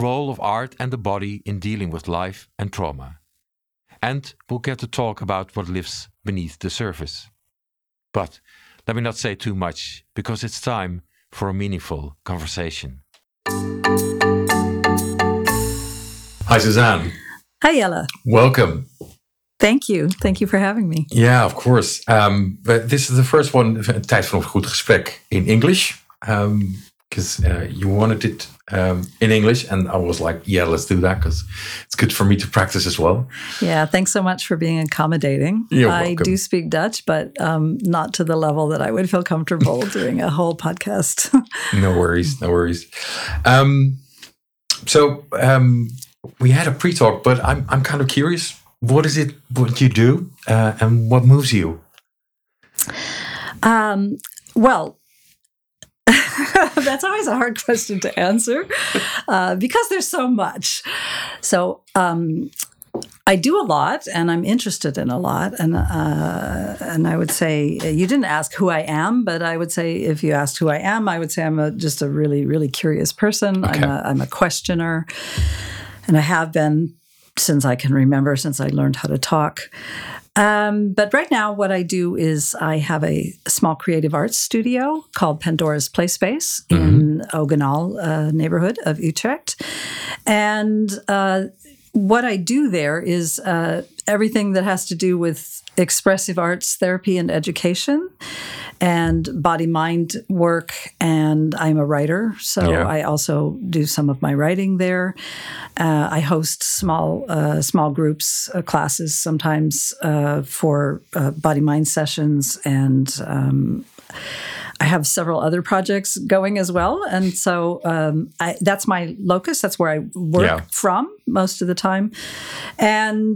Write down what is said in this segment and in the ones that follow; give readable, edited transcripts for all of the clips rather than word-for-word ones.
role of art and the body in dealing with life and trauma. And we'll get to talk about what lives beneath the surface. But let me not say too much, because it's time for a meaningful conversation. Hi, Suzanne. Hi, Jelle. Welcome. Thank you. Thank you for having me. Yeah, of course. But this is the first one, Tijd voor een goed gesprek, in English. Because you wanted it in English, and I was like, yeah, let's do that, because it's good for me to practice as well. Yeah, thanks so much for being accommodating. You're I welcome. do speak Dutch, but not to the level that I would feel comfortable doing a whole podcast. No worries, no worries. So we had a pre-talk, but I'm kind of curious. What is it what you do, and what moves you? Well, that's always a hard question to answer because there's so much. So I do a lot, and I'm interested in a lot, and I would say you didn't ask who I am, but I would say if you asked who I am, I would say I'm just a really, really curious person. Okay. I'm a questioner, and I have been since I can remember, since I learned how to talk. But right now, what I do is I have a small creative arts studio called Pandora's Play Space in Ogenal neighborhood of Utrecht. And what I do there is everything that has to do with expressive arts therapy and education and body-mind work. And I'm a writer, so Yeah. I also do some of my writing there. I host small groups, classes sometimes for body-mind sessions, and I have several other projects going as well. And so that's my locus. That's where I work from most of the time. And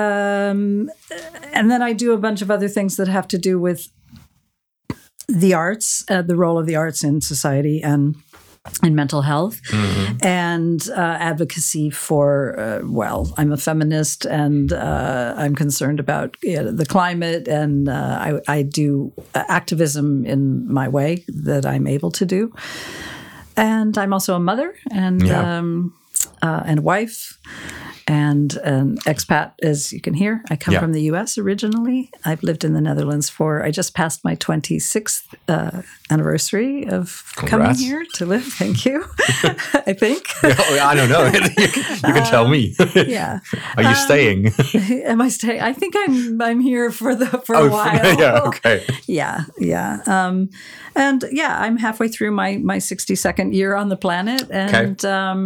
then I do a bunch of other things that have to do with the arts, the role of the arts in society and in mental health, and advocacy for, I'm a feminist, and I'm concerned about the climate, and I do activism in my way that I'm able to do. And I'm also a mother and a wife and an expat, as you can hear. I come from the U.S. originally. I've lived in the Netherlands I just passed my 26th anniversary of coming here to live. Thank you, I think. I don't know. You can tell me. Yeah. Are you staying? Am I staying? I think I'm here for a while. Yeah, okay. Yeah. And I'm halfway through my 62nd year on the planet. And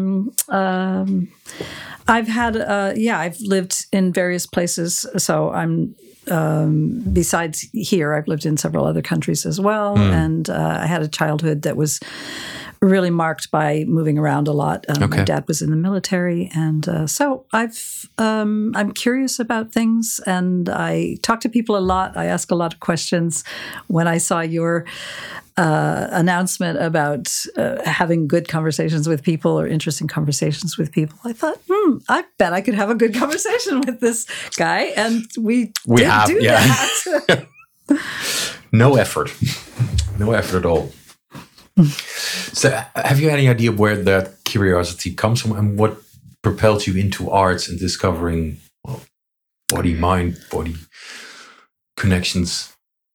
I've lived in various places. So I'm, besides here, I've lived in several other countries as well. And I had a childhood that was really marked by moving around a lot. My dad was in the military. And so I'm curious about things, and I talk to people a lot. I ask a lot of questions. When I saw your announcement about having good conversations with people or interesting conversations with people, I thought, I bet I could have a good conversation with this guy. And we did that. No effort at all. So have you any idea where that curiosity comes from, and what propelled you into arts and discovering body, mind, body connections?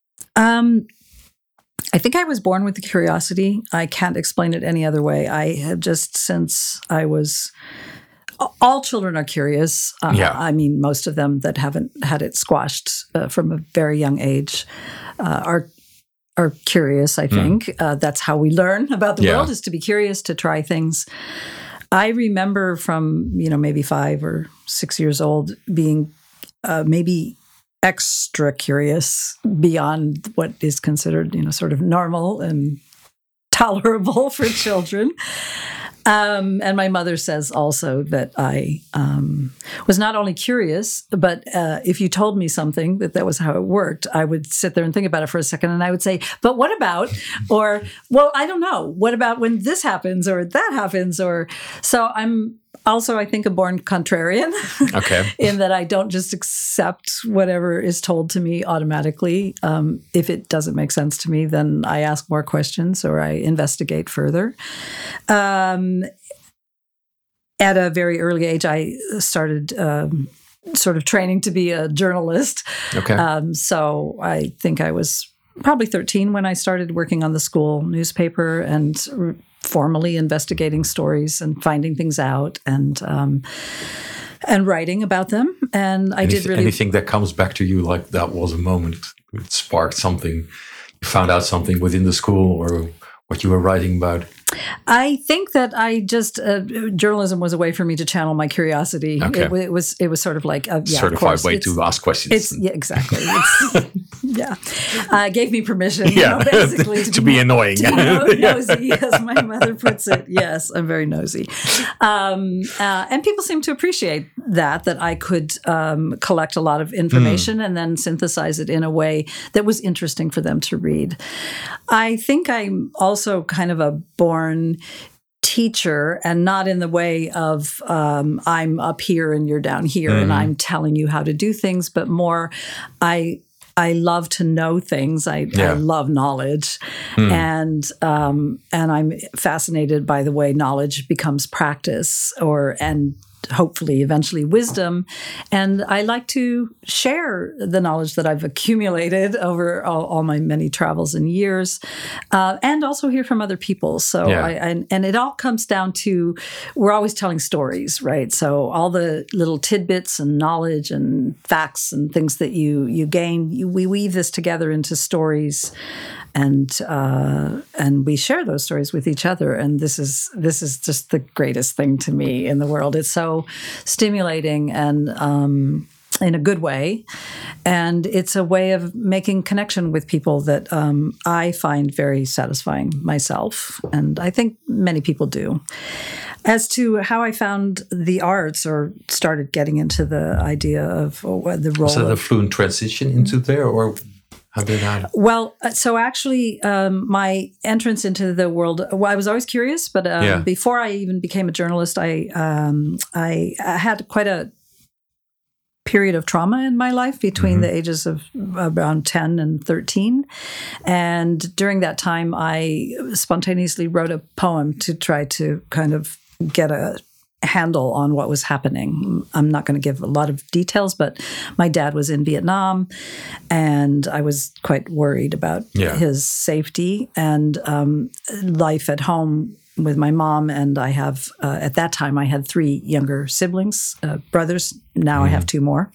I think I was born with the curiosity. I can't explain it any other way. I have just, since I was, all children are curious. I mean, most of them that haven't had it squashed from a very young age are curious, I think. That's how we learn about the world, is to be curious, to try things. I remember from, maybe 5 or 6 years old being maybe extra curious beyond what is considered, sort of normal and tolerable for children. And my mother says also that I was not only curious, but if you told me something that was how it worked, I would sit there and think about it for a second, and I would say, but what about, or, well, I don't know, what about when this happens or that happens? Or so I'm also, I think, a born contrarian. Okay. In that I don't just accept whatever is told to me automatically. If it doesn't make sense to me, then I ask more questions or I investigate further. at a very early age, I started sort of training to be a journalist. Okay. So I think I was probably 13 when I started working on the school newspaper and formally investigating stories and finding things out and writing about them. And I did really... Anything that comes back to you like that was a moment, it sparked something, you found out something within the school or what you were writing about? I think that I just journalism was a way for me to channel my curiosity. Okay. It was sort of like a certified way to ask questions. Exactly. Gave me permission, basically to be annoying, nosy, as my mother puts it. Yes, I'm very nosy, and people seem to appreciate that I could collect a lot of information and then synthesize it in a way that was interesting for them to read. I think I'm also kind of a born teacher, and not in the way of I'm up here and you're down here and I'm telling you how to do things, but more I love to know things. I love knowledge, and I'm fascinated by the way knowledge becomes practice, and hopefully eventually wisdom. And I like to share the knowledge that I've accumulated over all my many travels and years, and also hear from other people. So and it all comes down to, we're always telling stories, right? So all the little tidbits and knowledge and facts and things that you gain, we weave this together into stories. And we share those stories with each other, and this is just the greatest thing to me in the world. It's so stimulating and in a good way, and it's a way of making connection with people that I find very satisfying myself, and I think many people do. As to how I found the arts or started getting into the idea of the role, was that a fluent transition into there, or? How did that? Well, so actually, my entrance into the world, I was always curious, but before I even became a journalist, I had quite a period of trauma in my life between the ages of around 10 and 13. And during that time, I spontaneously wrote a poem to try to kind of get a handle on what was happening. I'm not going to give a lot of details, but my dad was in Vietnam, and I was quite worried about his safety and life at home with my mom. And I have, at that time, I had 3 younger siblings, brothers. Now I have 2 more.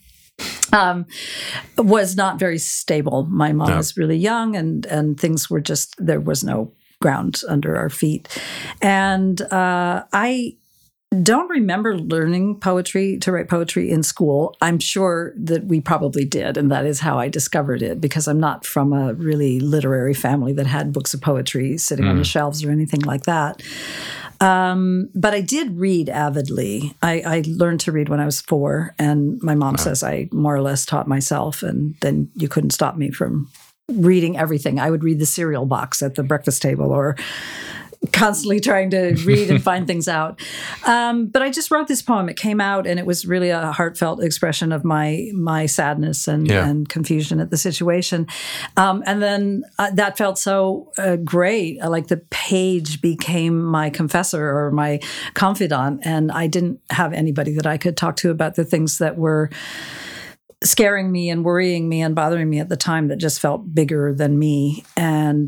Was not very stable. My mom was really young, and things were just, there was no ground under our feet. And I don't remember learning to write poetry in school. I'm sure that we probably did, and that is how I discovered it, because I'm not from a really literary family that had books of poetry sitting on the shelves or anything like that. But I did read avidly. I learned to read when I was 4, and my mom says I more or less taught myself, and then you couldn't stop me from reading everything. I would read the cereal box at the breakfast table, or constantly trying to read and find things out. But I just wrote this poem. It came out, and it was really a heartfelt expression of my sadness and confusion at the situation. And then that felt so great. Like the page became my confessor or my confidant, and I didn't have anybody that I could talk to about the things that were scaring me and worrying me and bothering me at the time, that just felt bigger than me. And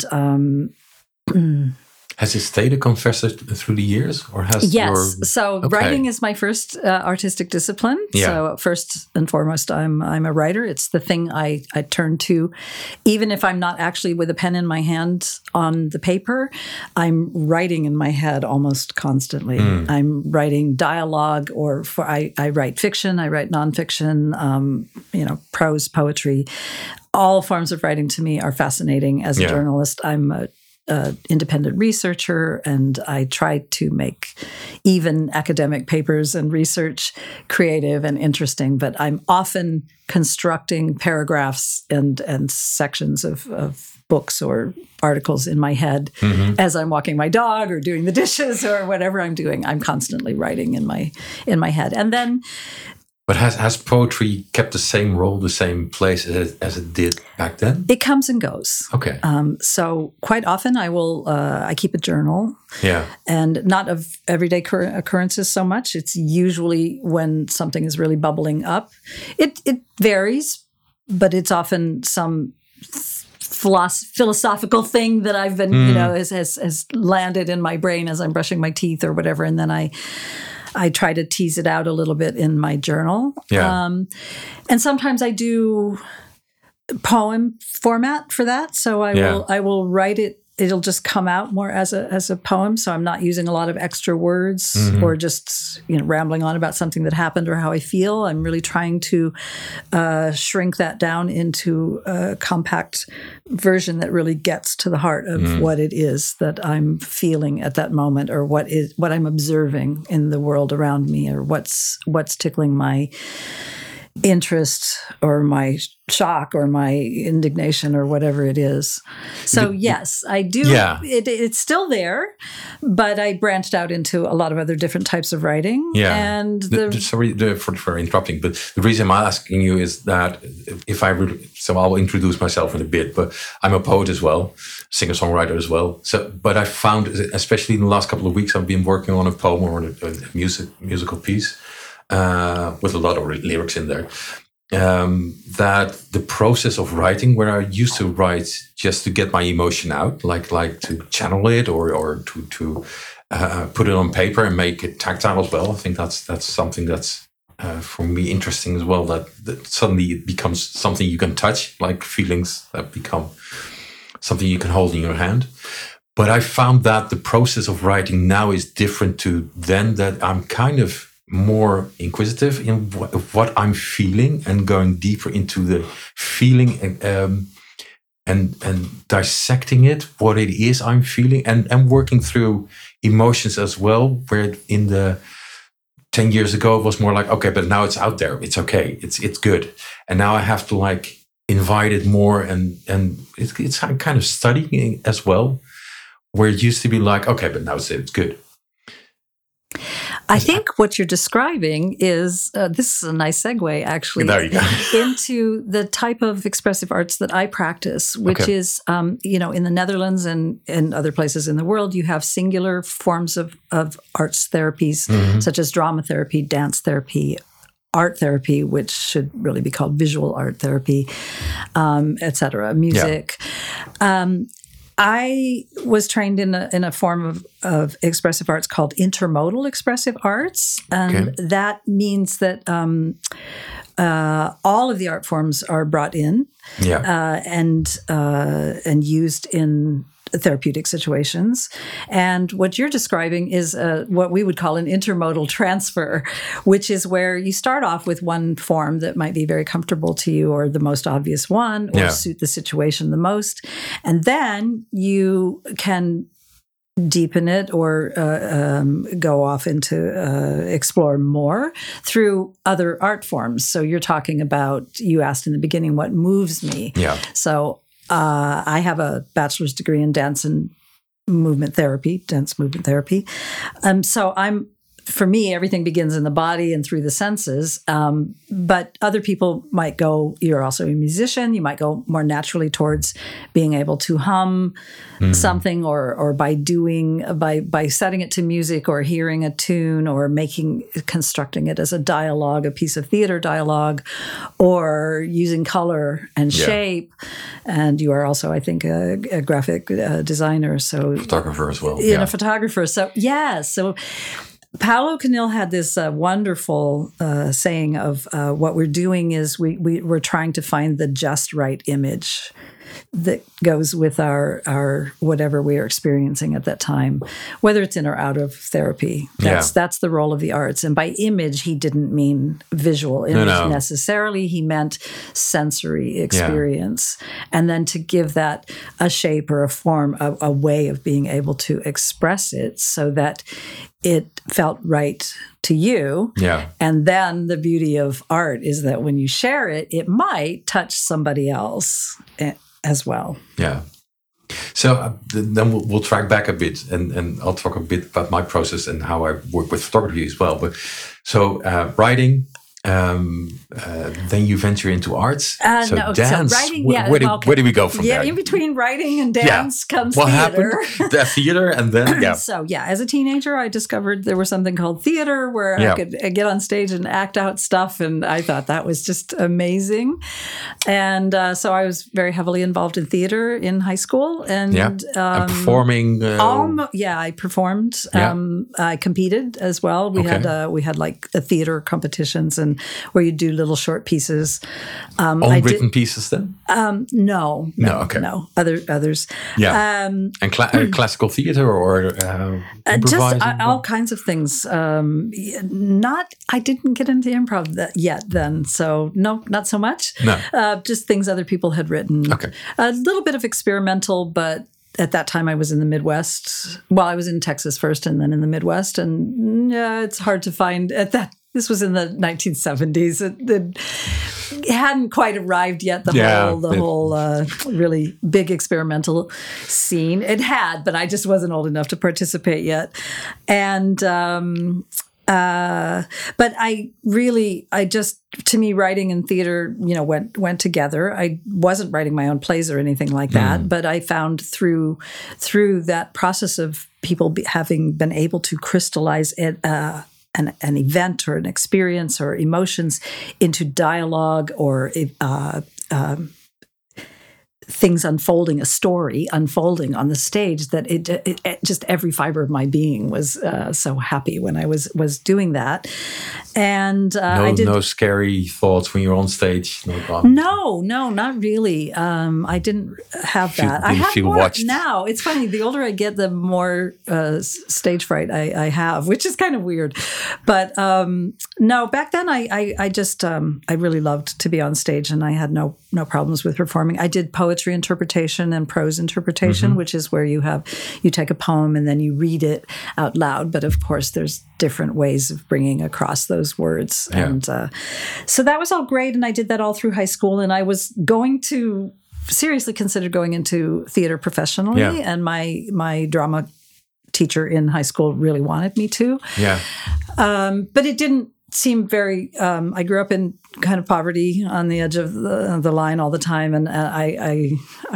has it stayed a confessor through the years, or has So writing is my first artistic discipline. Yeah. So first and foremost, I'm a writer. It's the thing I turn to, even if I'm not actually with a pen in my hand on the paper. I'm writing in my head almost constantly. I'm writing dialogue, or I write fiction. I write nonfiction. Prose, poetry. All forms of writing to me are fascinating. As a journalist, I'm a independent researcher, and I try to make even academic papers and research creative and interesting, but I'm often constructing paragraphs and sections of books or articles in my head as I'm walking my dog or doing the dishes or whatever I'm doing. I'm constantly writing in my head. And then But has poetry kept the same role, the same place as it did back then? It comes and goes. Okay. So quite often I keep a journal. Yeah. And not of everyday occurrences so much. It's usually when something is really bubbling up. It varies, but it's often some philosophical thing that I've been, has landed in my brain as I'm brushing my teeth or whatever. And then I try to tease it out a little bit in my journal. Yeah. And sometimes I do poem format for that. So I will write it. It'll just come out more as a poem. So I'm not using a lot of extra words or just rambling on about something that happened or how I feel. I'm really trying to shrink that down into a compact version that really gets to the heart of what it is that I'm feeling at that moment, or what I'm observing in the world around me, or what's tickling my interest or my shock or my indignation or whatever it is. So yes, I do. Yeah. It's still there, but I branched out into a lot of other different types of writing. Yeah. And sorry for interrupting, but the reason I'm asking you is that so I'll introduce myself in a bit, but I'm a poet as well, singer-songwriter as well. So, but I found, especially in the last couple of weeks, I've been working on a poem or a musical piece. With a lot of lyrics in there, that the process of writing, where I used to write just to get my emotion out, like to channel it or to put it on paper and make it tactile as well. I think that's something that's for me interesting as well. That suddenly it becomes something you can touch, like feelings that become something you can hold in your hand. But I found that the process of writing now is different to then. That I'm kind of more inquisitive in what I'm feeling and going deeper into the feeling and dissecting it, what it is I'm feeling, and working through emotions as well, where in the 10 years ago it was more like, okay, but now it's out there, it's okay, it's good, and now I have to like invite it more, and it's kind of studying as well, where it used to be like, okay, but now it's good. I think what you're describing is, this is a nice segue, actually, there you go. into the type of expressive arts that I practice, which is, in the Netherlands and in other places in the world, you have singular forms of arts therapies, such as drama therapy, dance therapy, art therapy, which should really be called visual art therapy, et cetera, music. Yeah. I was trained in a form of expressive arts called intermodal expressive arts, and that means that all of the art forms are brought in and used in therapeutic situations. And what you're describing is what we would call an intermodal transfer, which is where you start off with one form that might be very comfortable to you, or the most obvious one, or suit the situation the most. And then you can deepen it or go off into explore more through other art forms. So you're talking about, you asked in the beginning, what moves me. Yeah. So I have a bachelor's degree in dance movement therapy. So for me, everything begins in the body and through the senses. But other people might go, you're also a musician, you might go more naturally towards being able to hum something, or by setting it to music, or hearing a tune, or constructing it as a dialogue, a piece of theater dialogue, or using color and shape. And you are also, I think, a graphic designer. So photographer as well. A photographer. So so Paulo Canil had this wonderful saying of what we're doing is we're trying to find the just right image that goes with our whatever we are experiencing at that time, whether it's in or out of therapy. That's the role of the arts. And by image, he didn't mean visual image necessarily. He meant sensory experience. And then to give that a shape or a form, a way of being able to express it so that it felt right to you. Yeah. And then the beauty of art is that when you share it, it might touch somebody else as well. Yeah. So then we'll track back a bit, and I'll talk a bit about my process and how I work with photography as well. But so writing, then you venture into arts. No, dance. So writing, Where do we go from there? Yeah, in between writing and dance comes what theater. Happened? The theater, and then So as a teenager, I discovered there was something called theater where I could get on stage and act out stuff, and I thought that was just amazing. And so I was very heavily involved in theater in high school, and performing. I performed. I competed as well. We had like a theater competitions and where you do little short pieces. Written pieces then? No. Others. Yeah. And classical theater or just all kinds of things. I didn't get into improv yet then, so no, not so much. No. Just things other people had written. Okay. A little bit of experimental, but at that time I was in the Midwest. Well, I was in Texas first and then in the Midwest. And it's hard to find at that. This was in the 1970s. It hadn't quite arrived yet, the whole really big experimental scene. It had, but I just wasn't old enough to participate yet. And but to me, writing and theater, went together. I wasn't writing my own plays or anything like that, but I found through that process of people having been able to crystallize it, an event or an experience or emotions into dialogue or things unfolding, a story unfolding on the stage, that it just every fiber of my being was so happy when I was doing that. And no scary thoughts when you're on stage. No, not really. I didn't have that. I have more watched now. It's funny. The older I get, the more stage fright I have, which is kind of weird. But no, back then I just I really loved to be on stage, and I had no problems with performing. I did poetry interpretation and prose interpretation, which is where you take a poem and then you read it out loud. But of course, there's different ways of bringing across those words. Yeah. And so that was all great. And I did that all through high school. And I was going to seriously consider going into theater professionally. Yeah. And my drama teacher in high school really wanted me to. Yeah. But it didn't seem very. I grew up in kind of poverty on the edge of the line all the time, and I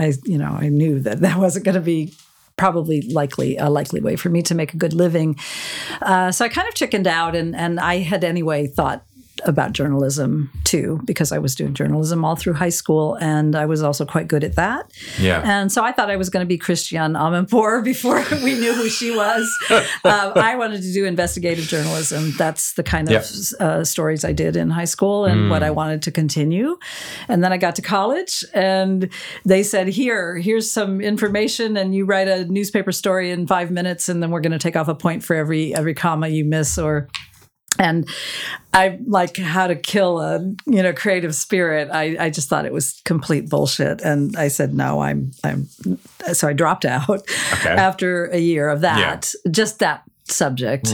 knew that wasn't going to be probably a likely way for me to make a good living. So I kind of chickened out, and I had anyway thought about journalism too, because I was doing journalism all through high school, and I was also quite good at that. Yeah. And so I thought I was going to be Christiane Amanpour before we knew who she was. I wanted to do investigative journalism. That's the kind of stories I did in high school and what I wanted to continue. And then I got to college, and they said, here's some information, and you write a newspaper story in 5 minutes, and then we're going to take off a point for every comma you miss And I like how to kill a creative spirit. I just thought it was complete bullshit, and I said no. So I dropped out after a year of that, just that subject,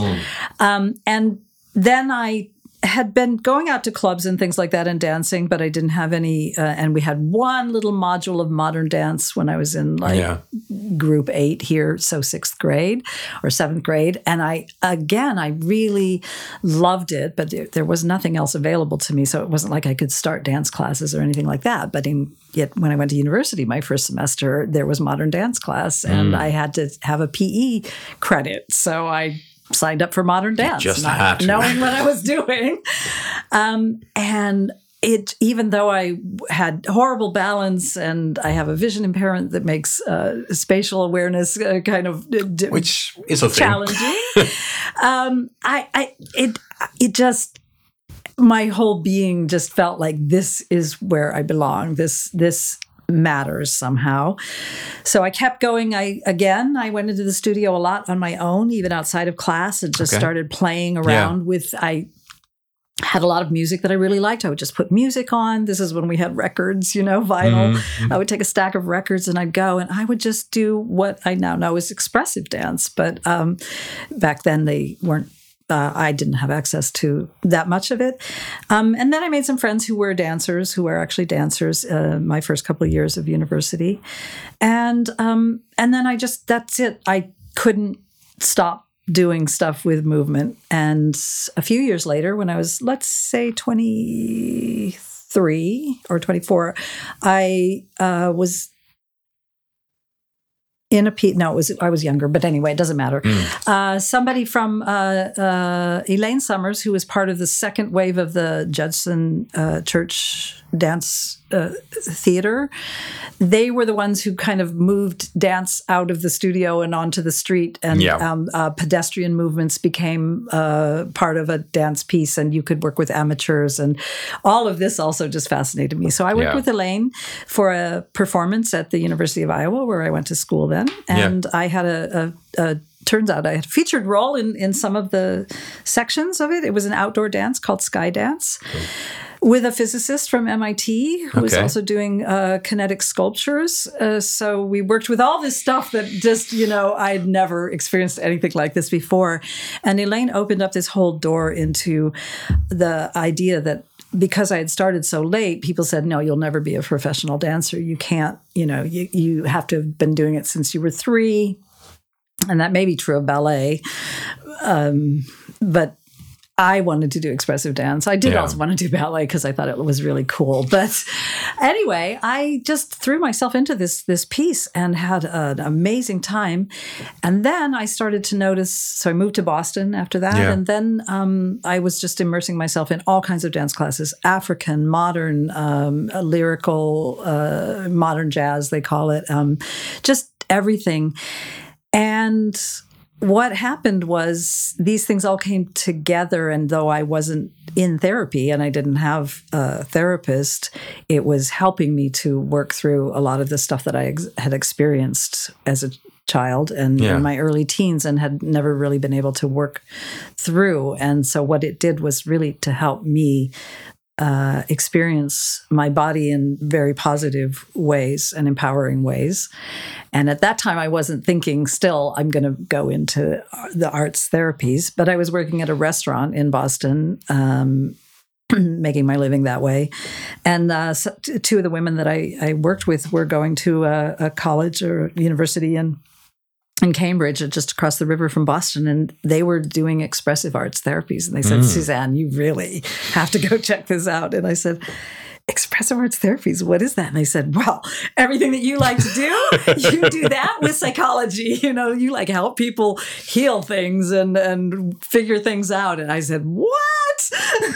and then I had been going out to clubs and things like that and dancing, but I didn't have any. And we had one little module of modern dance when I was in group 8 here, so 6th grade or 7th grade. And I really loved it, but there was nothing else available to me. So it wasn't like I could start dance classes or anything like that. But yet when I went to university, my first semester, there was modern dance class, and I had to have a PE credit. So I signed up for modern dance, not knowing what I was doing. And even though I had horrible balance and I have a vision impairment that makes spatial awareness kind of which is a challenging, it just, my whole being just felt like this is where I belong. This matters somehow. So I kept going. I went into the studio a lot on my own, even outside of class, and just started playing around with, I had a lot of music that I really liked. I would just put music on. This is when we had records, vinyl. I would take a stack of records and I'd go and I would just do what I now know is expressive dance. But back then they weren't, I didn't have access to that much of it. And then I made some friends who were actually dancers my first couple of years of university. And then that's it. I couldn't stop doing stuff with movement. And a few years later, when I was, let's say, 23 or 24, I was in a I was younger, but anyway, it doesn't matter. Somebody from Elaine Summers, who was part of the second wave of the Judson Church Dance Theater, they were the ones who kind of moved dance out of the studio and onto the street, and pedestrian movements became part of a dance piece, and you could work with amateurs, and all of this also just fascinated me. So I worked with Elaine for a performance at the University of Iowa, where I went to school then, and I had turns out I had a featured role in some of the sections of it. It was an outdoor dance called Sky Dance. Cool. With a physicist from MIT who was also doing kinetic sculptures. So we worked with all this stuff that just, I'd never experienced anything like this before. And Elaine opened up this whole door into the idea that because I had started so late, people said, no, you'll never be a professional dancer. You can't, you have to have been doing it since you were 3. And that may be true of ballet. But I wanted to do expressive dance. I did also want to do ballet because I thought it was really cool. But anyway, I just threw myself into this piece and had an amazing time. And then I started to notice, so I moved to Boston after that. Yeah. And then I was just immersing myself in all kinds of dance classes, African, modern, lyrical, modern jazz, they call it, just everything. And what happened was these things all came together, and though I wasn't in therapy and I didn't have a therapist, it was helping me to work through a lot of the stuff that I had experienced as a child and in my early teens and had never really been able to work through. And so what it did was really to help me experience my body in very positive ways and empowering ways. And at that time, I wasn't thinking still, I'm going to go into the arts therapies, but I was working at a restaurant in Boston, making my living that way. And so 2 of the women that I worked with were going to a college or university in Cambridge, just across the river from Boston, and they were doing expressive arts therapies. And they said, Suzanne, you really have to go check this out. And I said, expressive arts therapies, what is that? And they said, well, everything that you like to do, you do that with psychology. You like help people heal things and figure things out. And I said, what?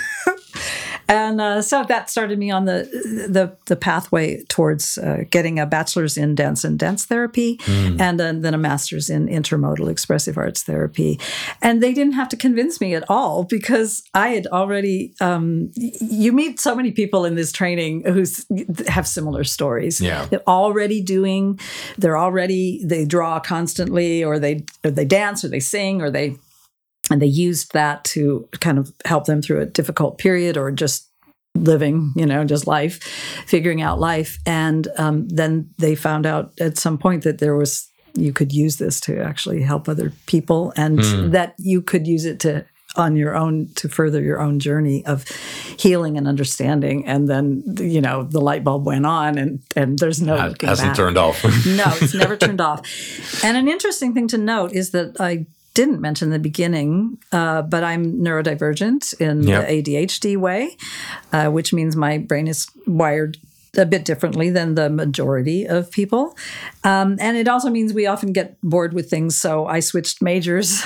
And so that started me on the pathway towards getting a bachelor's in dance and dance therapy, and then a master's in intermodal expressive arts therapy. And they didn't have to convince me at all because I had already. You meet so many people in this training who have similar stories. Yeah. They're already they draw constantly, or they dance, or they sing, and they used that to kind of help them through a difficult period or just living, just life, figuring out life. And then they found out at some point that you could use this to actually help other people, and that you could use it to further your own journey of healing and understanding. And then, the light bulb went on, and there's no looking back. Hasn't turned off. No, it's never turned off. And an interesting thing to note is that I didn't mention in the beginning, but I'm neurodivergent in the ADHD way, which means my brain is wired a bit differently than the majority of people. And it also means we often get bored with things. So I switched majors.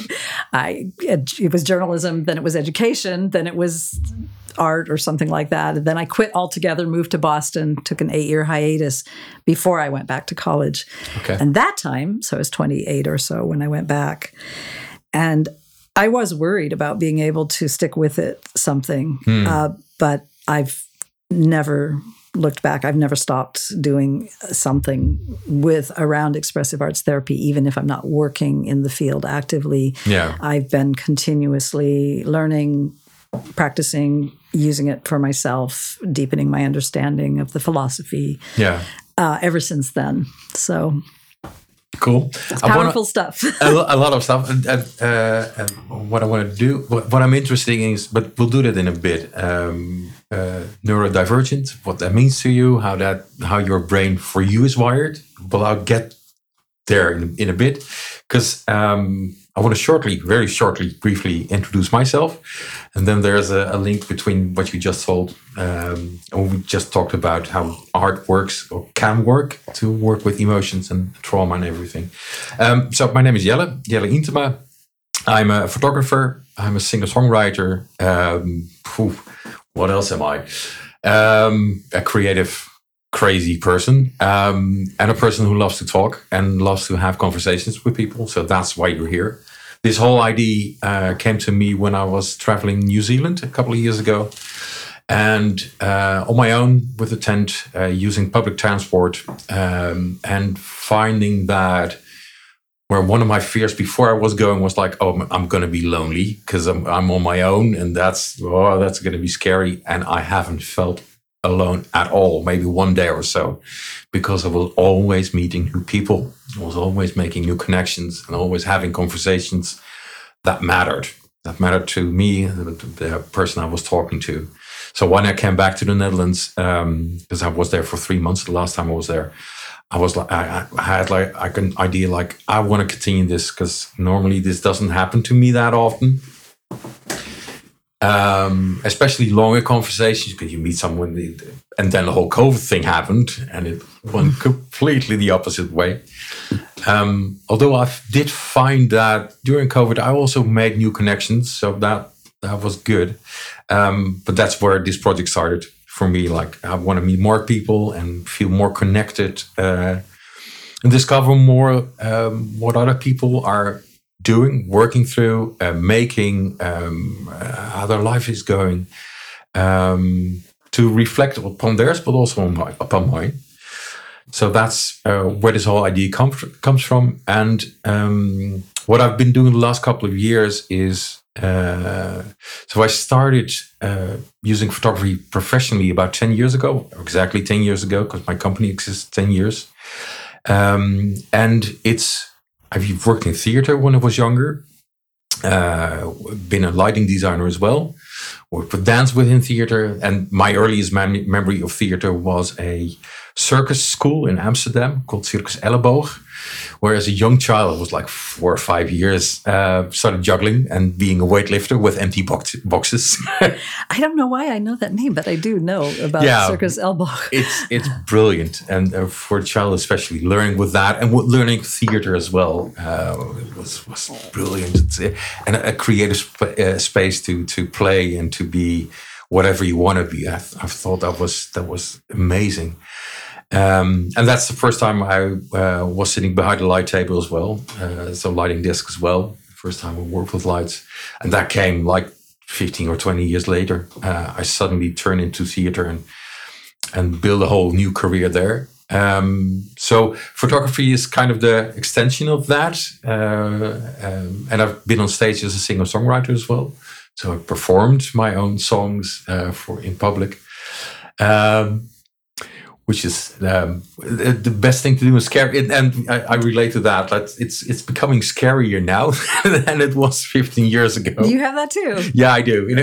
It was journalism, then it was education, then it was art or something like that. And then I quit altogether, moved to Boston, took an 8-year hiatus before I went back to college. Okay. And that time, so I was 28 or so when I went back. And I was worried about being able to stick with it something. But I've never looked back. I've never stopped doing something around expressive arts therapy, even if I'm not working in the field actively. Yeah. I've been continuously learning, practicing, using it for myself, deepening my understanding of the philosophy ever since then. So cool. It's powerful stuff. a lot of stuff. And what I want to do, what I'm interested in is, but we'll do that in a bit. Neurodivergent, what that means to you, how your brain for you is wired. But I'll get there in a bit, because I want to very shortly, briefly introduce myself. And then there's a link between what you just told. And we just talked about how art works or can work to work with emotions and trauma and everything. So my name is Jelle Intema. I'm a photographer. I'm a singer-songwriter. What else am I? A creative, crazy person, and a person who loves to talk and loves to have conversations with people. So that's why you're here. This whole idea came to me when I was traveling New Zealand a couple of years ago. And on my own with a tent, using public transport, and finding that where one of my fears before I was going was like, oh, I'm going to be lonely because I'm on my own, and that's going to be scary. And I haven't felt alone at all, maybe one day or so, because I was always meeting new people. I was always making new connections and always having conversations that mattered to me, the person I was talking to. So when I came back to the Netherlands, because I was there for 3 months, the last time I was there, I was like, I had like an idea, like I want to continue this because normally this doesn't happen to me that often. Especially longer conversations, because you meet someone, and then the whole COVID thing happened, and it went completely the opposite way. Although I did find that during COVID, I also made new connections, so that was good. But that's where this project started for me. Like I want to meet more people and feel more connected, and discover more what other people are doing, working through, making, how their life is going, to reflect upon theirs, but also upon mine. So that's where this whole idea comes from. And what I've been doing the last couple of years is, so I started using photography professionally about 10 years ago, exactly 10 years ago, because my company exists 10 years. And I've worked in theater when I was younger, been a lighting designer as well, worked with dance within theater. And my earliest memory of theater was a circus school in Amsterdam called Circus Elleboog, where as a young child, I was like 4 or 5 years, started juggling and being a weightlifter with empty boxes. I don't know why I know that name, but I do know about Circus Elleboog. It's brilliant. And for a child especially, learning with that and learning theater as well was brilliant. And a creative space to play and to be whatever you want to be. I thought that was amazing. And that's the first time I was sitting behind a light table as well. So lighting desk as well. First time I worked with lights. And that came like 15 or 20 years later. I suddenly turned into theater and built a whole new career there. So photography is kind of the extension of that. And I've been on stage as a singer-songwriter as well. So I performed my own songs in public. Which is the best thing to do is scary, and I relate to that. It's becoming scarier now than it was 15 years ago. You have that too. Yeah, I do.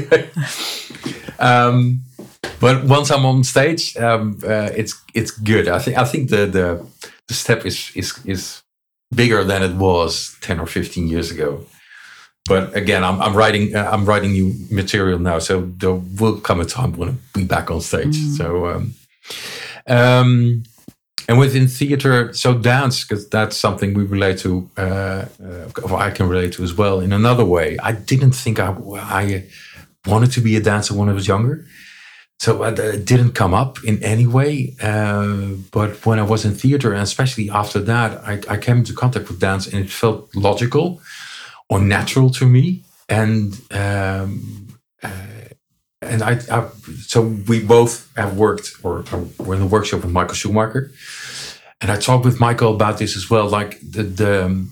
But once I'm on stage, it's good. I think the step is bigger than it was 10 or 15 years ago. But again, I'm writing new material now, so there will come a time when I'll be back on stage. So. And within theater, so dance, because that's something we relate to, or I can relate to as well in another way. I didn't think I wanted to be a dancer when I was younger. So it didn't come up in any way. But when I was in theater, and especially after that, I came into contact with dance and it felt logical or natural to me. And so we both have worked or were in the workshop with Michael Schumacher, and I talked with Michael about this as well. Like the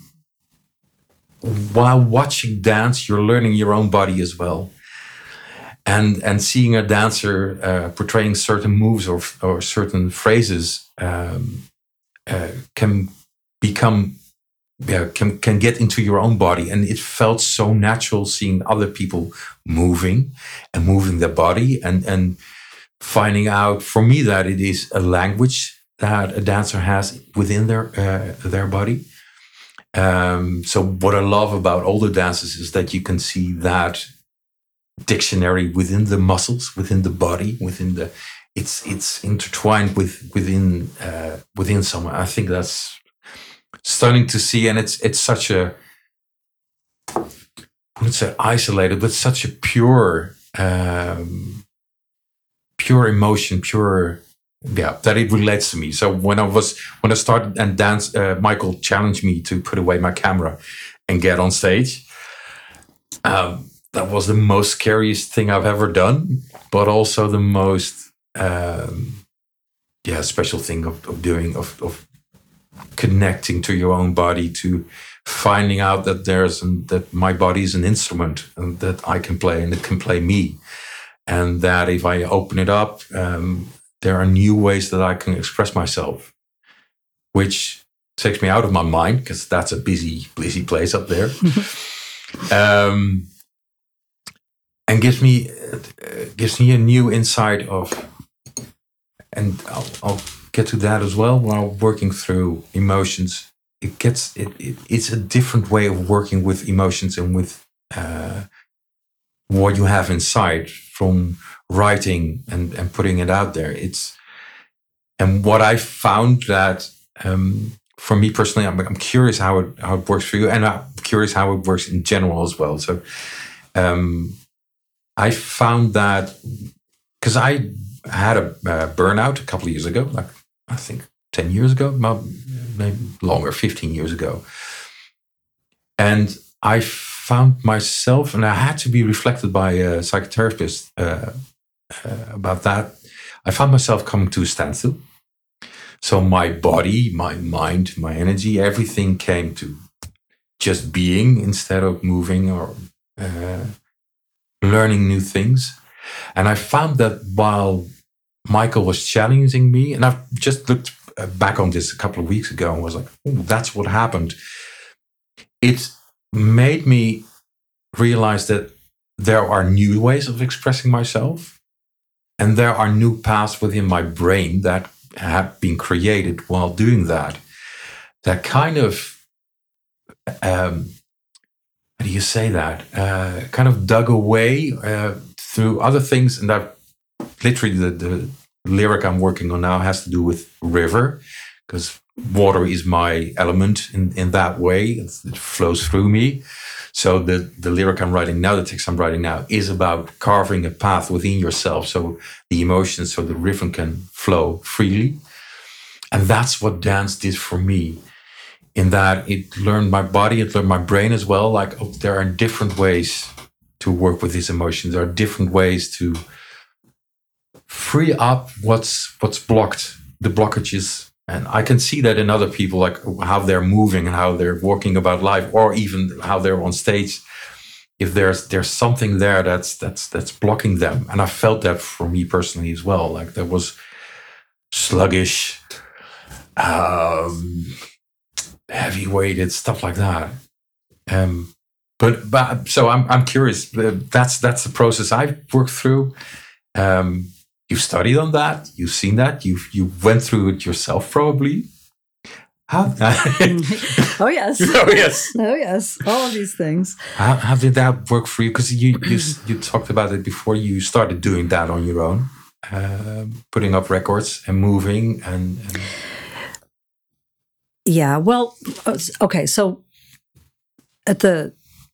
while watching dance, you're learning your own body as well, and seeing a dancer portraying certain moves or certain phrases can become. Can get into your own body. And it felt so natural seeing other people moving their body and finding out for me that it is a language that a dancer has within their body. So what I love about all the dances is that you can see that dictionary within the muscles, within the body, it's intertwined within someone. I think that's stunning to see, and it's such a, I wouldn't say isolated, but such a pure emotion, that it relates to me. So when I started and dance, Michael challenged me to put away my camera and get on stage. That was the most scariest thing I've ever done, but also the most special thing of doing, of connecting to your own body, to finding out that that my body is an instrument and that I can play and it can play me, and that if I open it up, there are new ways that I can express myself, which takes me out of my mind, because that's a busy place up there. And gives me a new insight of, and I'll get to that as well. While working through emotions, it's a different way of working with emotions and with what you have inside from writing and putting it out there. And what I found that for me personally, I'm curious how it works for you, and I'm curious how it works in general as well. So. I found that because I had a burnout a couple of years ago, like I think 10 years ago, maybe longer, 15 years ago. And I found myself, and I had to be reflected by a psychotherapist about that. I found myself coming to a standstill. So my body, my mind, my energy, everything came to just being instead of moving or learning new things. And I found that while Michael was challenging me, and I've just looked back on this a couple of weeks ago and was like, oh, that's what happened. It made me realize that there are new ways of expressing myself, and there are new paths within my brain that have been created while doing that. That kind of how do you say that? Kind of dug away through other things. And that literally the lyric I'm working on now has to do with river, because water is my element in that way. It flows through me. So the lyric I'm writing now, the text I'm writing now, is about carving a path within yourself so the emotions, so the rhythm can flow freely. And that's what dance did for me. In that it learned my body, it learned my brain as well. Like, oh, there are different ways to work with these emotions. There are different ways to free up what's blocked, the blockages. And I can see that in other people, like how they're moving and how they're walking about life, or even how they're on stage. If there's something there that's blocking them, and I felt that for me personally as well. Like there was sluggish. Heavy-weighted stuff like that, but so I'm curious. That's the process I've worked through. You've studied on that. You've seen that. You went through it yourself, probably. How? Oh yes. Oh yes. Oh yes. All of these things. How did that work for you? Because you talked about it before you started doing that on your own, putting up records and moving and Yeah, well, okay. So at the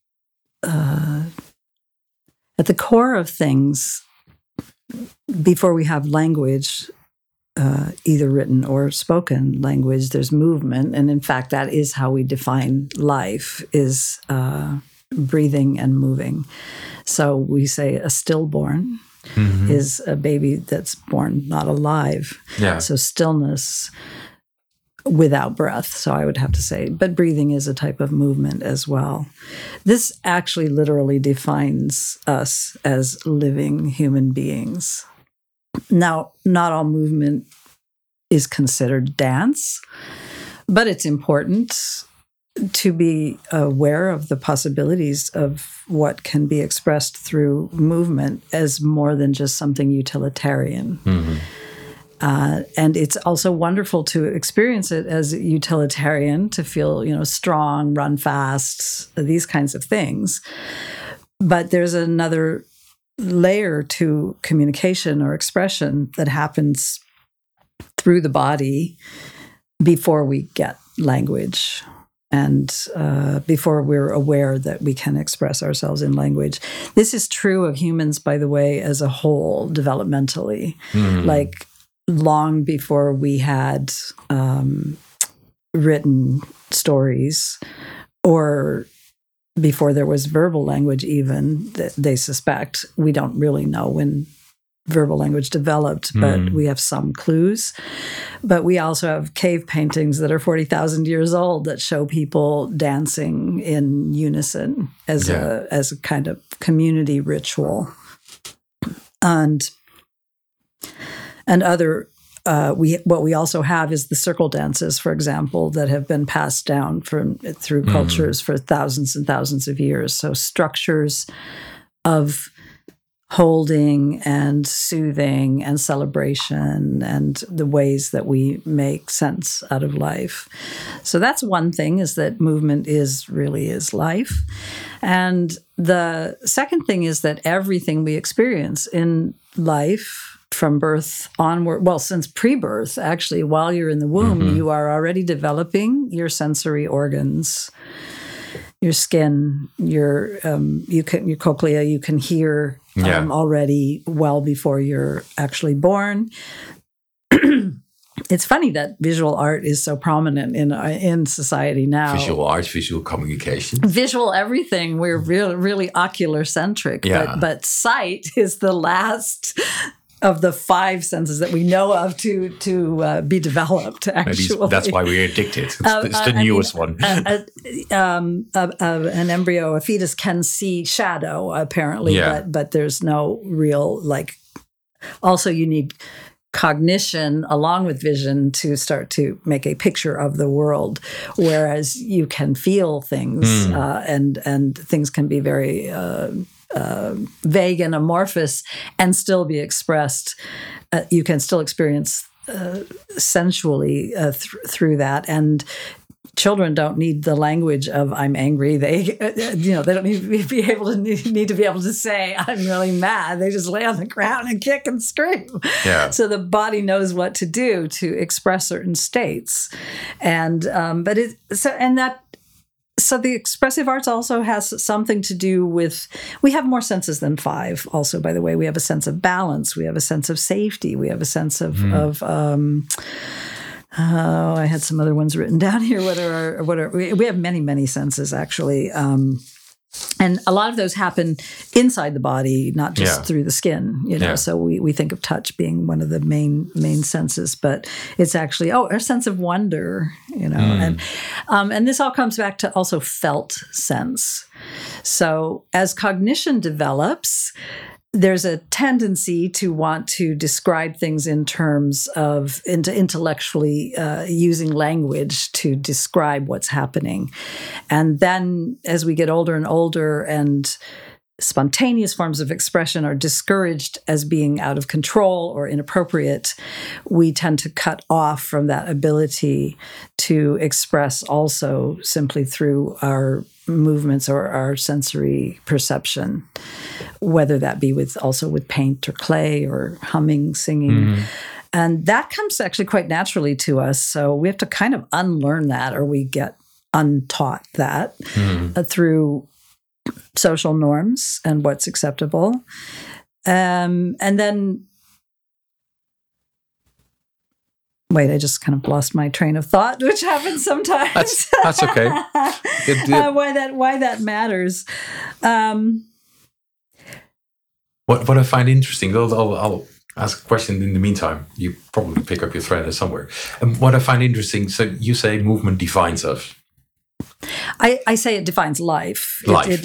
core of things, before we have language, either written or spoken language, there's movement, and in fact, that is how we define life: is breathing and moving. So we say a stillborn is a baby that's born not alive. Yeah. So stillness. Without breath, so I would have to say. But breathing is a type of movement as well. This actually literally defines us as living human beings. Now, not all movement is considered dance, but it's important to be aware of the possibilities of what can be expressed through movement as more than just something utilitarian. And it's also wonderful to experience it as a utilitarian, to feel, strong, run fast, these kinds of things. But there's another layer to communication or expression that happens through the body before we get language and before we're aware that we can express ourselves in language. This is true of humans, by the way, as a whole, developmentally. Like long before we had written stories, or before there was verbal language even, they suspect. We don't really know when verbal language developed, but we have some clues. But we also have cave paintings that are 40,000 years old that show people dancing in unison as a kind of community ritual. And other what we also have is the circle dances, for example, that have been passed down through cultures for thousands and thousands of years. So structures of holding and soothing and celebration and the ways that we make sense out of life. So that's one thing, is that movement really is life. And the second thing is that everything we experience in life from birth onward, well, since pre-birth, actually, while you're in the womb, you are already developing your sensory organs, your skin, your cochlea. You can hear already well before you're actually born. It's funny that visual art is so prominent in society now. Visual art, visual communication. Visual everything. We're really ocular centric, but sight is the last of the 5 senses that we know of to be developed, actually. Maybe that's why we're addicted. It's the newest one. An embryo, a fetus, can see shadow, apparently, but there's no real, also you need cognition along with vision to start to make a picture of the world, whereas you can feel things, and things can be very vague and amorphous and still be expressed. You can still experience sensually through that. And children don't need the language of "I'm angry." They don't need to be able to say "I'm really mad." They just lay on the ground and kick and scream. Yeah. So the body knows what to do to express certain states, So the expressive arts also has something to do with, we have more senses than 5 also, by the way. We have a sense of balance. We have a sense of safety. We have a sense of I had some other ones written down here. We have many, many senses, actually. And a lot of those happen inside the body, not just through the skin, So we think of touch being one of the main senses, but it's actually, our sense of wonder, And this all comes back to also felt sense. So as cognition develops, there's a tendency to want to describe things in terms of intellectually using language to describe what's happening. And then as we get older and older, and spontaneous forms of expression are discouraged as being out of control or inappropriate, we tend to cut off from that ability to express also simply through our movements or our sensory perception, whether that be with paint or clay or humming, singing. And that comes actually quite naturally to us. So we have to kind of unlearn that, or we get untaught that through social norms and what's acceptable. And then, wait, I just kind of lost my train of thought, which happens sometimes. That's okay. Why that matters. What I find interesting, I'll ask a question in the meantime. You probably pick up your thread somewhere. And what I find interesting, so you say movement defines us. I say it defines life.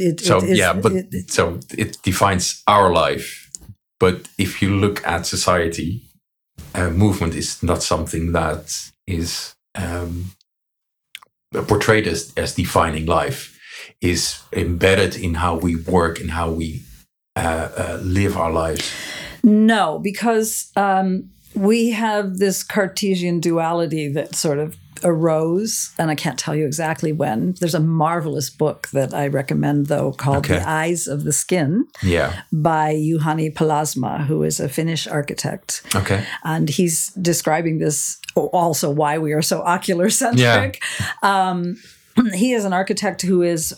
So it defines our life. But if you look at society, movement is not something that is portrayed as defining life. Is embedded in how we work and how we live our lives. No, because we have this Cartesian duality that sort of arose, and I can't tell you exactly when. There's a marvelous book that I recommend, though, called The Eyes of the Skin by Juhani Palasma, who is a Finnish architect. Okay. And he's describing this, also why we are so ocular-centric. He is an architect who is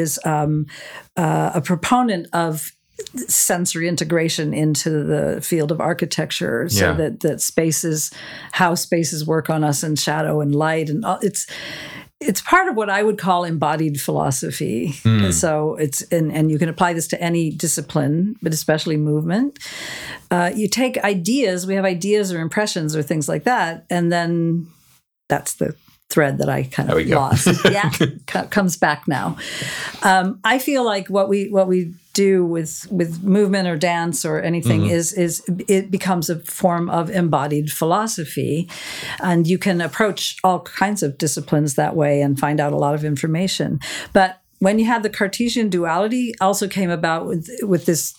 a proponent of sensory integration into the field of architecture, so that spaces, how spaces work on us in shadow and light, and it's part of what I would call embodied philosophy. So it's and you can apply this to any discipline, but especially movement. You take ideas, we have ideas or impressions or things like that, and then that's the thread that I kind of lost. Comes back now. I feel like what we do with movement or dance or anything is it becomes a form of embodied philosophy, and you can approach all kinds of disciplines that way and find out a lot of information. But when you have the Cartesian duality, also came about with this.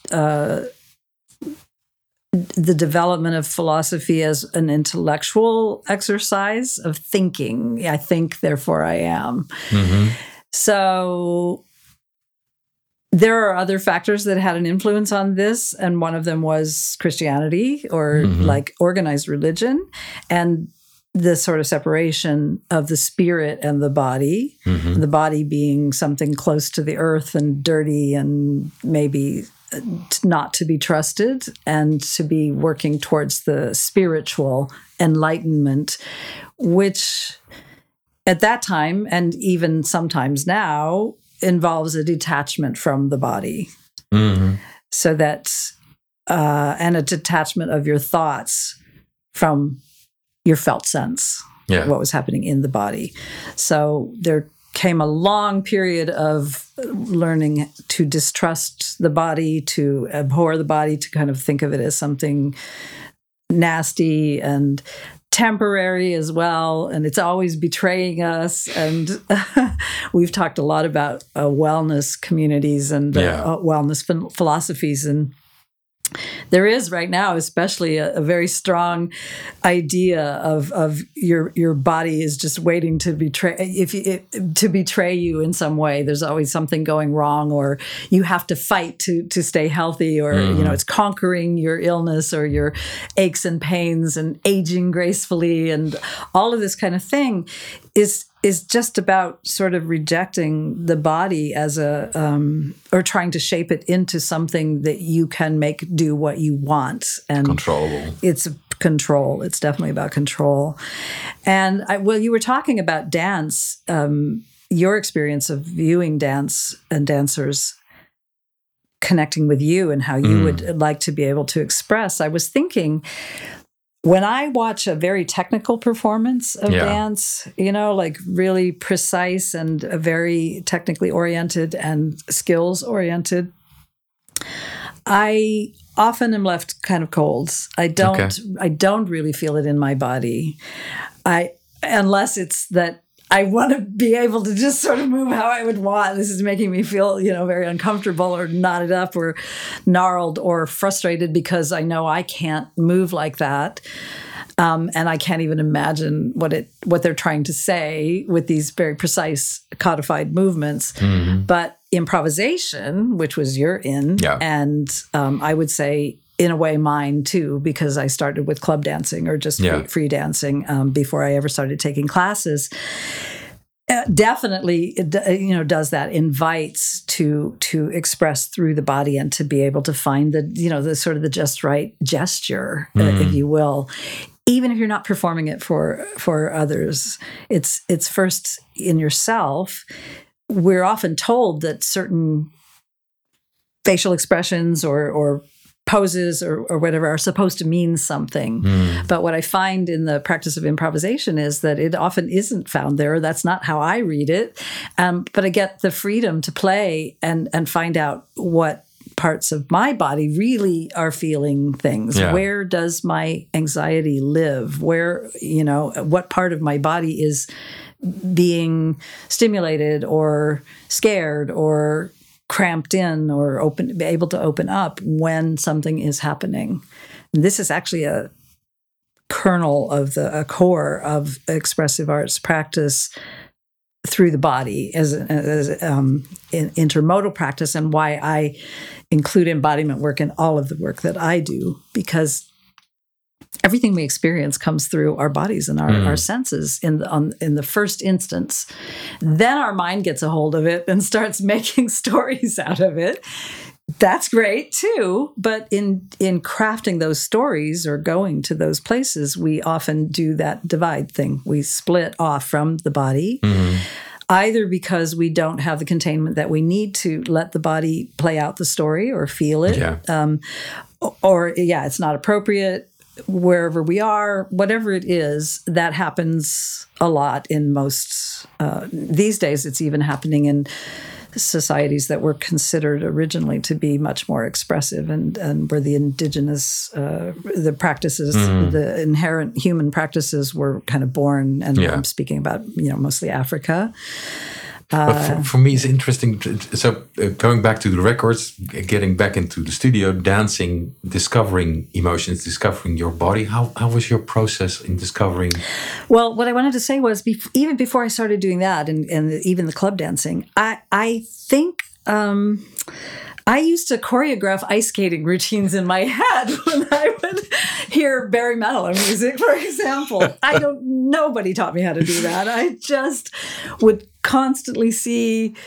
The development of philosophy as an intellectual exercise of thinking. I think, therefore I am. So there are other factors that had an influence on this, and one of them was Christianity, or like organized religion, and the sort of separation of the spirit and the body being something close to the earth and dirty and maybe not to be trusted, and to be working towards the spiritual enlightenment, which at that time, and even sometimes now, involves a detachment from the body. So that, and a detachment of your thoughts from your felt sense, what was happening in the body. So there came a long period of learning to distrust the body, to abhor the body, to kind of think of it as something nasty and temporary as well, and it's always betraying us. And we've talked a lot about wellness communities and wellness philosophies, and there is right now, especially a very strong idea of your body is just waiting to betray you in some way. There's always something going wrong, or you have to fight to stay healthy, or it's conquering your illness or your aches and pains and aging gracefully, and all of this kind of thing is just about sort of rejecting the body as or trying to shape it into something that you can make do what you want. And controllable. It's control. It's definitely about control. And you were talking about dance, your experience of viewing dance and dancers connecting with you and how you would like to be able to express. I was thinking, when I watch a very technical performance of dance, like really precise and very technically oriented and skills oriented, I often am left kind of cold. I don't really feel it in my body. Unless it's that I want to be able to just sort of move how I would want. This is making me feel, very uncomfortable or knotted up or gnarled or frustrated because I know I can't move like that. And I can't even imagine what they're trying to say with these very precise codified movements. But improvisation, which was your and I would say in a way mine too, because I started with club dancing or just free dancing before I ever started taking classes. Definitely, does that, invites to express through the body and to be able to find the sort of the just right gesture, if you will. Even if you're not performing it for others, it's first in yourself. We're often told that certain facial expressions or poses or whatever are supposed to mean something. But what I find in the practice of improvisation is that it often isn't found there. That's not how I read it. But I get the freedom to play and find out what parts of my body really are feeling things. Where does my anxiety live? Where, what part of my body is being stimulated or scared or cramped in or able to open up when something is happening. And this is actually a kernel of a core of expressive arts practice through the body as in intermodal practice, and why I include embodiment work in all of the work that I do, because everything we experience comes through our bodies and our senses in the first instance. Then our mind gets a hold of it and starts making stories out of it. That's great too, but in crafting those stories or going to those places, we often do that divide thing. We split off from the body, either because we don't have the containment that we need to let the body play out the story or feel it, or it's not appropriate wherever we are, whatever it is. That happens a lot in most, these days it's even happening in societies that were considered originally to be much more expressive and where the indigenous, the practices, the inherent human practices were kind of born. And I'm speaking about, mostly Africa. But for me, it's interesting. So going back to the records, getting back into the studio, dancing, discovering emotions, discovering your body. How was your process in discovering? Well, what I wanted to say was even before I started doing that and even the club dancing, I think I used to choreograph ice skating routines in my head when I would hear Barry Manilow music, for example. Nobody taught me how to do that. I just would constantly see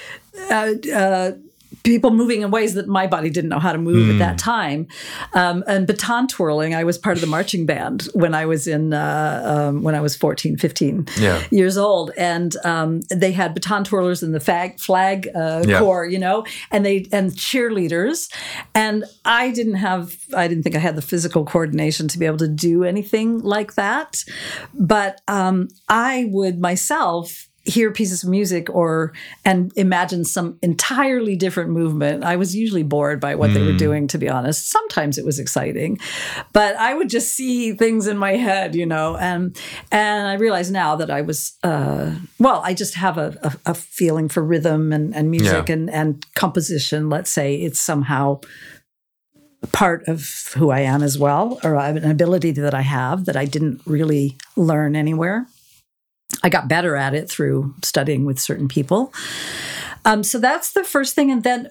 people moving in ways that my body didn't know how to move at that time. And baton twirling, I was part of the marching band when I was when I was 14, 15 years old. And they had baton twirlers in the flag corps, and cheerleaders. And I didn't think I had the physical coordination to be able to do anything like that. But I would myself hear pieces of music and imagine some entirely different movement. I was usually bored by what they were doing, to be honest. Sometimes it was exciting, but I would just see things in my head, and I realize now that I was, I just have a feeling for rhythm and music and composition. Let's say it's somehow part of who I am as well, or an ability that I have that I didn't really learn anywhere. I got better at it through studying with certain people. So that's the first thing. And then,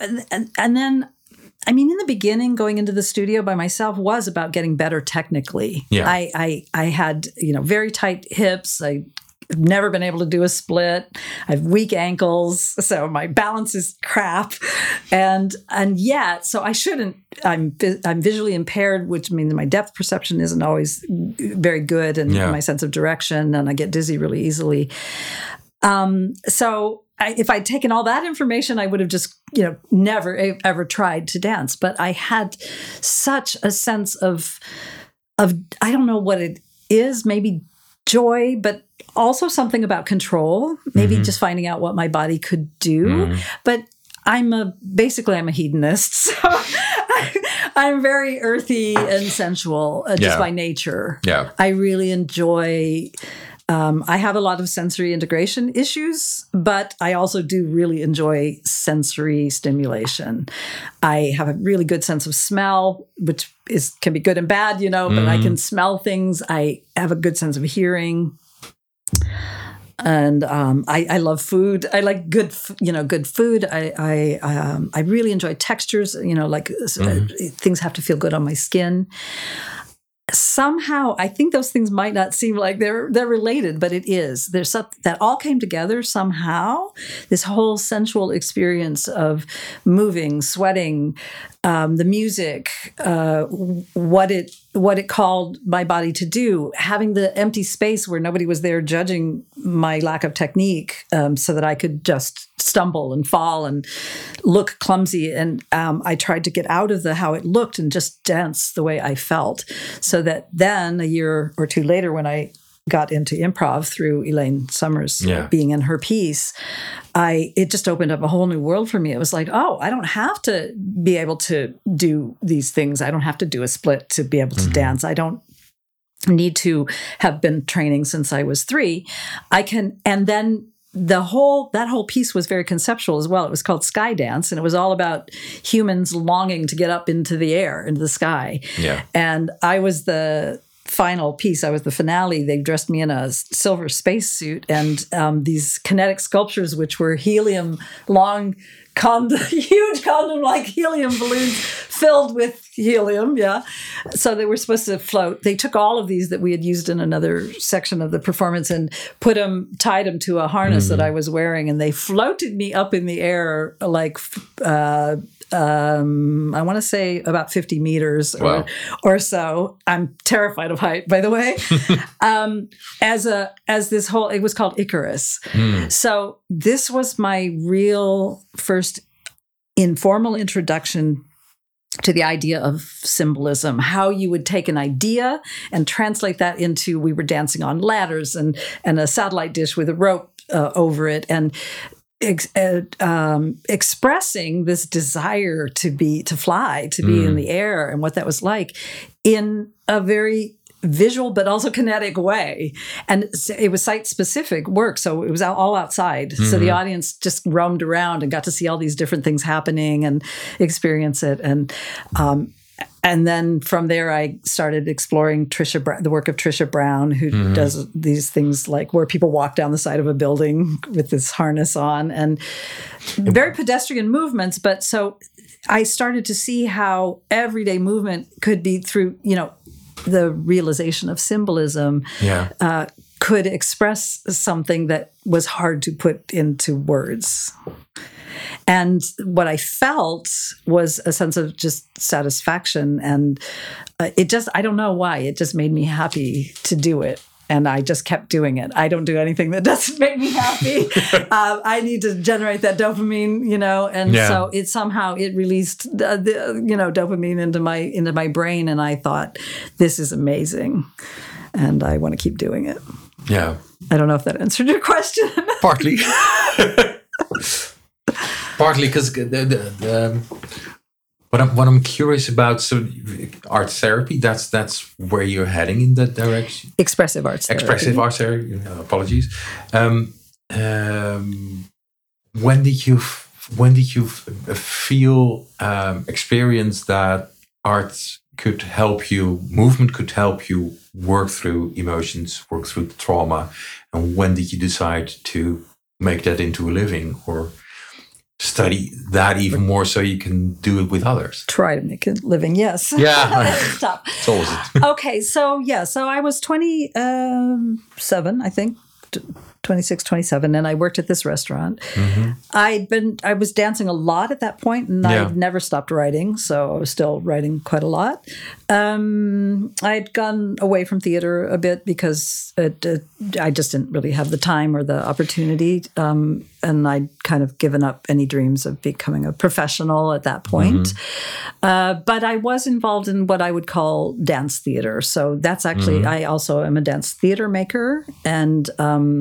I mean, in the beginning, going into the studio by myself was about getting better technically. Yeah. I had, very tight hips. I've never been able to do a split. I have weak ankles, so my balance is crap. And yet, so I shouldn't, I'm visually impaired, which means my depth perception isn't always very good, and my sense of direction, and I get dizzy really easily. So if I'd taken all that information, I would have just, never ever tried to dance. But I had such a sense of I don't know what it is, maybe joy, but also something about control, maybe just finding out what my body could do. But I'm a hedonist, so I'm very earthy and sensual just by nature. Yeah. I really enjoy, I have a lot of sensory integration issues, but I also do really enjoy sensory stimulation. I have a really good sense of smell, which can be good and bad, but I can smell things. I have a good sense of hearing. And I love food. I like good food. I really enjoy textures. Things have to feel good on my skin. Somehow, I think those things might not seem like they're related, but it is. There's something that all came together somehow. This whole sensual experience of moving, sweating, the music, what it called my body to do, having the empty space where nobody was there judging my lack of technique, so that I could just stumble and fall and look clumsy. And I tried to get out of how it looked and just dance the way I felt. So that then a year or two later, when I got into improv through Elaine Summers being in her piece, it just opened up a whole new world for me. It was like, oh, I don't have to be able to do these things. I don't have to do a split to be able to dance. I don't need to have been training since I was 3. I can, and then that whole piece was very conceptual as well. It was called Sky Dance, and it was all about humans longing to get up into the air, into the sky. Yeah. And I was the final piece, I was the finale, they dressed me in a silver spacesuit and these kinetic sculptures, which were helium, huge condom-like helium balloons filled with helium, So they were supposed to float. They took all of these that we had used in another section of the performance and tied them to a harness that I was wearing, and they floated me up in the air like I want to say about 50 meters or so. I'm terrified of height, by the way. It was called Icarus. So this was my real first informal introduction to the idea of symbolism, how you would take an idea and translate that into, we were dancing on ladders and a satellite dish with a rope over it, and expressing this desire to fly, to be in the air, and what that was like in a very visual but also kinetic way. And it was site-specific work, so it was all outside. So the audience just roamed around and got to see all these different things happening and experience it. And then from there, I started exploring the work of Trisha Brown, who does these things like where people walk down the side of a building with this harness on, and very pedestrian movements. But so I started to see how everyday movement could be through, the realization of symbolism, could express something that was hard to put into words. And what I felt was a sense of just satisfaction. And I don't know why, it just made me happy to do it. And I just kept doing it. I don't do anything that doesn't make me happy. I need to generate that dopamine, and so it released dopamine into my brain. And I thought, this is amazing. And I want to keep doing it. Yeah. I don't know if that answered your question. Partly. Partly because what I'm curious about, so art therapy, that's where you're heading in that direction. Expressive arts therapy. Expressive arts therapy. Apologies. When did you experience that art could help you, movement could help you work through emotions, work through trauma, and when did you decide to make that into a living or study that even more so you can do it with others? Try to make a living, yes. Yeah. Stop. It's always it. Okay, so I was 27, I think, 26, 27, and I worked at this restaurant. I was dancing a lot at that point, and I'd never stopped writing, so I was still writing quite a lot. I'd gone away from theater a bit because I just didn't really have the time or the opportunity, and I'd kind of given up any dreams of becoming a professional at that point. But I was involved in what I would call dance theater. So that's actually, I also am a dance theater maker, and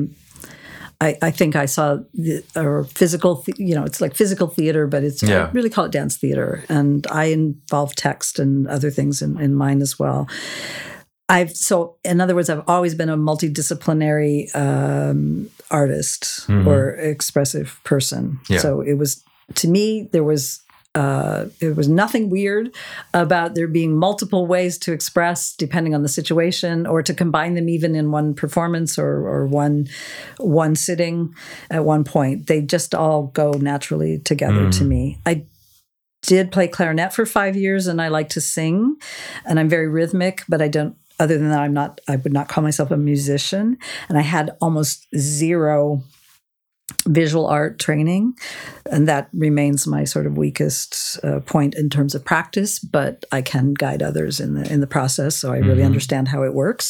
I think I saw physical, it's like physical theater, but I really call it dance theater. And I involve text and other things in mine as well. In other words, I've always been a multidisciplinary artist or expressive person. Yeah. So it was, to me, there was nothing weird about there being multiple ways to express depending on the situation, or to combine them even in one performance or one sitting at one point. They just all go naturally together to me. I did play clarinet for 5 years, and I like to sing, and I'm very rhythmic, but I don't. Other than that, I would not call myself a musician, and I had almost zero visual art training, and that remains my sort of weakest point in terms of practice, but I can guide others in the process, so I really understand how it works.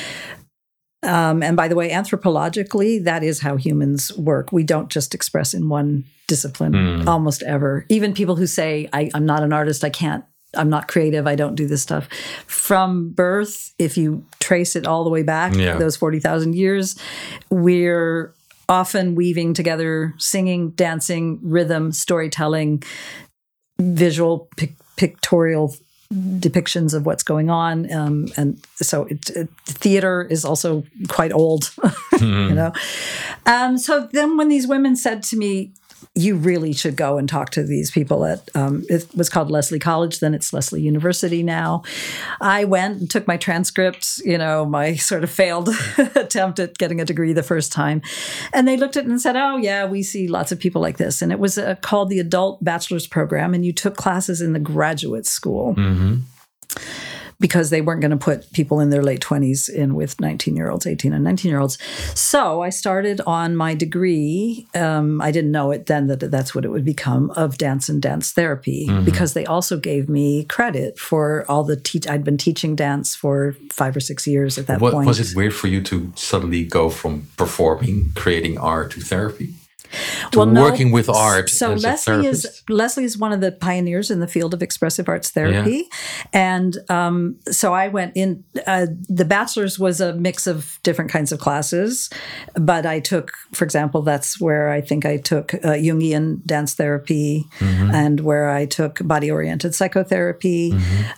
And by the way, anthropologically, that is how humans work. We don't just express in one discipline almost ever. Even people who say, I'm not an artist, I'm not creative, I don't do this stuff. From birth, if you trace it all the way back, those 40,000 years, we're often weaving together singing, dancing, rhythm, storytelling, visual, pictorial depictions of what's going on. And so theater is also quite old, So then when these women said to me, you really should go and talk to these people at, it was called Lesley College, then it's Lesley University now. I went and took my transcripts, my sort of failed attempt at getting a degree the first time. And they looked at it and said, oh yeah, we see lots of people like this. And it was called the Adult Bachelor's Program, and you took classes in the graduate school. Mm-hmm. Because they weren't going to put people in their late 20s in with 19-year-olds, 18 and 19-year-olds. So I started on my degree. I didn't know it then that that's what it would become, of dance and dance therapy, because they also gave me credit for all the I'd been teaching dance for 5 or 6 years at that point. Was it weird for you to suddenly go from performing, creating art, to therapy? Working with art. So Lesley is one of the pioneers in the field of expressive arts therapy. Yeah. And so I went in, the bachelor's was a mix of different kinds of classes, but I took, for example, that's where I think I took Jungian dance therapy, and where I took body-oriented psychotherapy,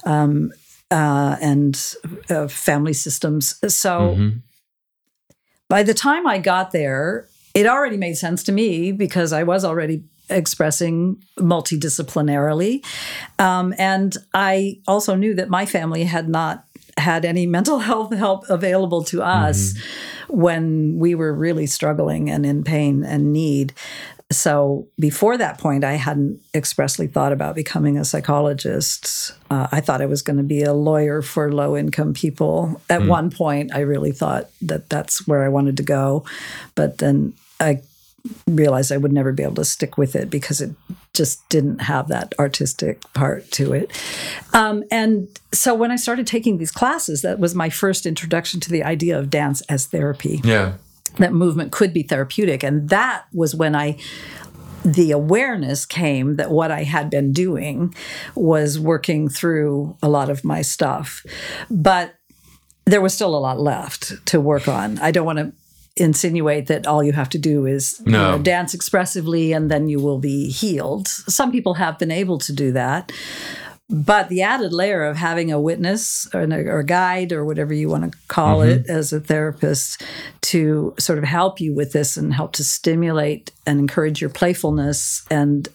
and family systems. So by the time I got there, it already made sense to me because I was already expressing multidisciplinarily. And I also knew that my family had not had any mental health help available to us when we were really struggling and in pain and need. So before that point, I hadn't expressly thought about becoming a psychologist. I thought I was going to be a lawyer for low-income people. At one point, I really thought that that's where I wanted to go. But then I realized I would never be able to stick with it because it just didn't have that artistic part to it. And so when I started taking these classes, that was my first introduction to the idea of dance as therapy. Yeah. That movement could be therapeutic. And that was when the awareness came that what I had been doing was working through a lot of my stuff. But there was still a lot left to work on. I don't want to insinuate that all you have to do is dance expressively and then you will be healed. Some people have been able to do that. But the added layer of having a witness or a guide or whatever you want to call it as a therapist to sort of help you with this and help to stimulate and encourage your playfulness and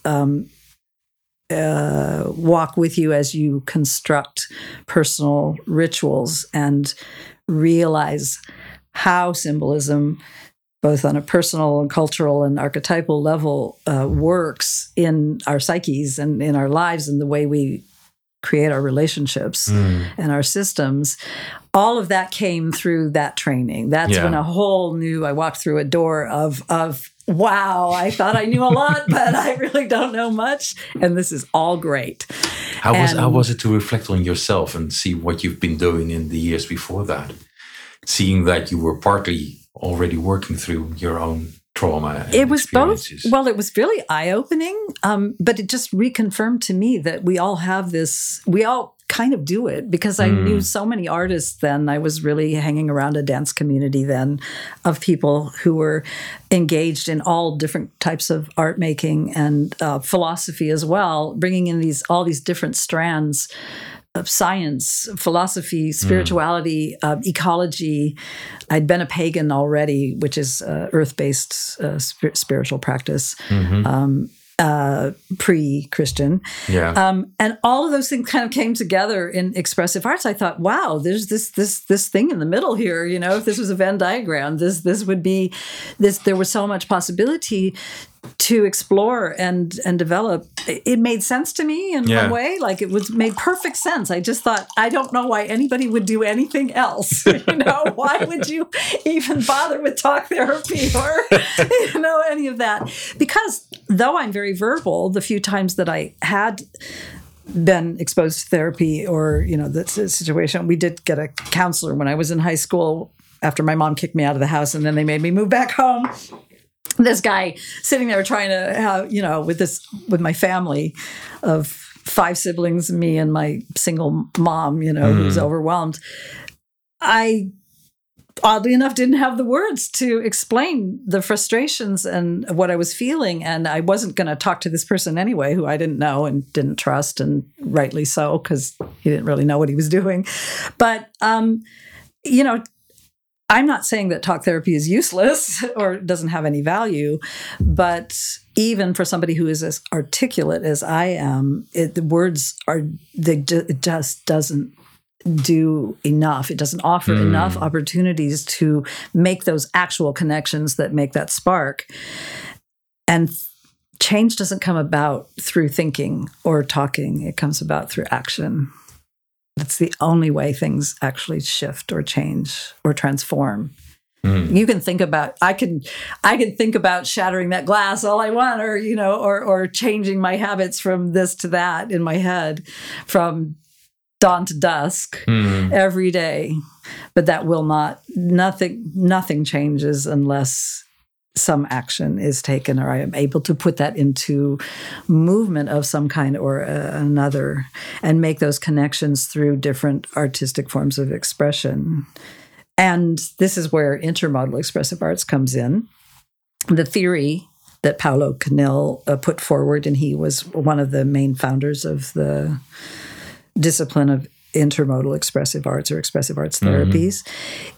walk with you as you construct personal rituals and realize how symbolism, both on a personal and cultural and archetypal level, works in our psyches and in our lives and the way we create our relationships and our systems. All of that came through that training. That's when I walked through a door of wow, I thought I knew a lot, but I really don't know much. And this is all great. How was it to reflect on yourself and see what you've been doing in the years before that? Seeing that you were partly already working through your own trauma and it was experiences. Both. Well, it was really eye-opening, but it just reconfirmed to me that we all have this, we all kind of do it because I knew so many artists then. I was really hanging around a dance community then of people who were engaged in all different types of art making and philosophy as well, bringing in all these different strands of science, philosophy, spirituality, ecology. I'd been a pagan already, which is earth-based spiritual practice, pre-Christian. Yeah. And all of those things kind of came together in expressive arts. I thought, wow, there's this thing in the middle here. If this was a Venn diagram, this would be this. There was so much possibility to explore and develop. It made sense to me in one way. Like it made perfect sense. I just thought, I don't know why anybody would do anything else. Why would you even bother with talk therapy or, any of that? Because though I'm very verbal, the few times that I had been exposed to therapy or, the situation, we did get a counselor when I was in high school after my mom kicked me out of the house and then they made me move back home. This guy sitting there trying to have, with my family of 5 siblings, me and my single mom, who's overwhelmed. I, oddly enough, didn't have the words to explain the frustrations and what I was feeling. And I wasn't going to talk to this person anyway, who I didn't know and didn't trust, and rightly so, because he didn't really know what he was doing. But, I'm not saying that talk therapy is useless or doesn't have any value, but even for somebody who is as articulate as I am, the words it just doesn't do enough. It doesn't offer enough opportunities to make those actual connections that make that spark. And change doesn't come about through thinking or talking. It comes about through action. That's the only way things actually shift or change or transform. You can think about, I can think about shattering that glass all I want, or, or changing my habits from this to that in my head from dawn to dusk every day. But that will nothing changes unless some action is taken, or I am able to put that into movement of some kind or another, and make those connections through different artistic forms of expression. And this is where intermodal expressive arts comes in. The theory that Paulo Canil put forward, and he was one of the main founders of the discipline of intermodal expressive arts or expressive arts therapies,